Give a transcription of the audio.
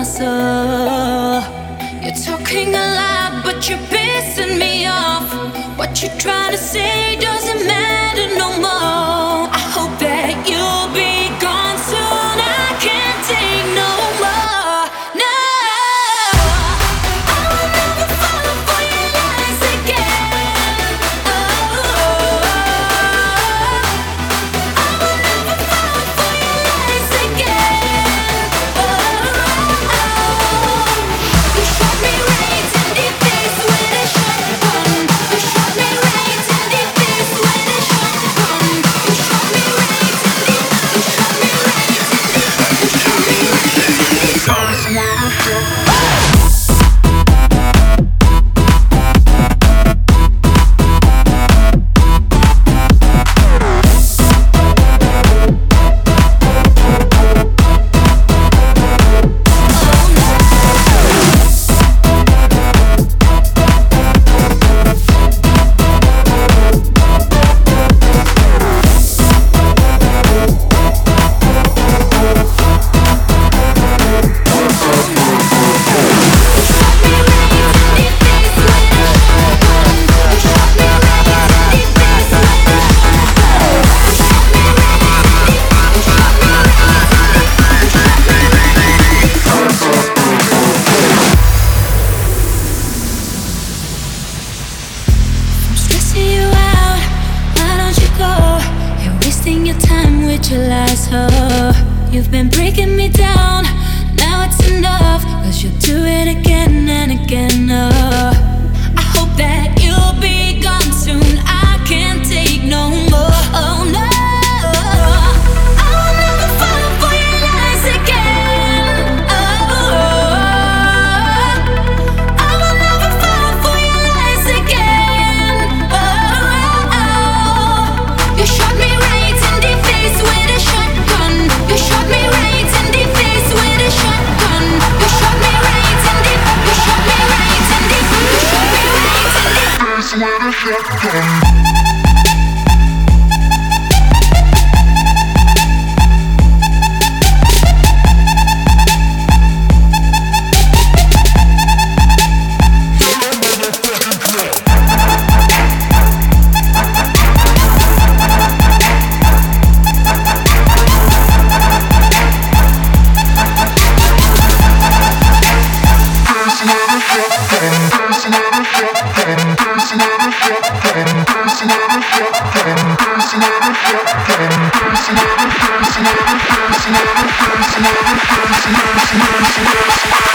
my soul. You're talking a lot, but you're pissing me off. What you're trying to say doesn't matter no more. I hope that you'll be gone soon. I can't take no more. No, I will never fall for your lies again. Oh, I will never fall for your lies again. You shot me right in the face with a shotgun. You shot me right in the face with a shotgun. You shot me right in the. You shot me right in the. You shot me right in the. Your lies, oh, you've been breaking me down. Now it's enough, 'cause you'll do it again and again. Oh, I hope that you'll be gone soon. I can't take no more. Oh no, I will never fall for your lies again. Oh, I will never fall for your lies again. Oh, you shot me right in the face with a shotgun. You shot me right in the face with a shotgun. You shot me right in the. You shot me right in the. You shot me right in the face with a shotgun. Personal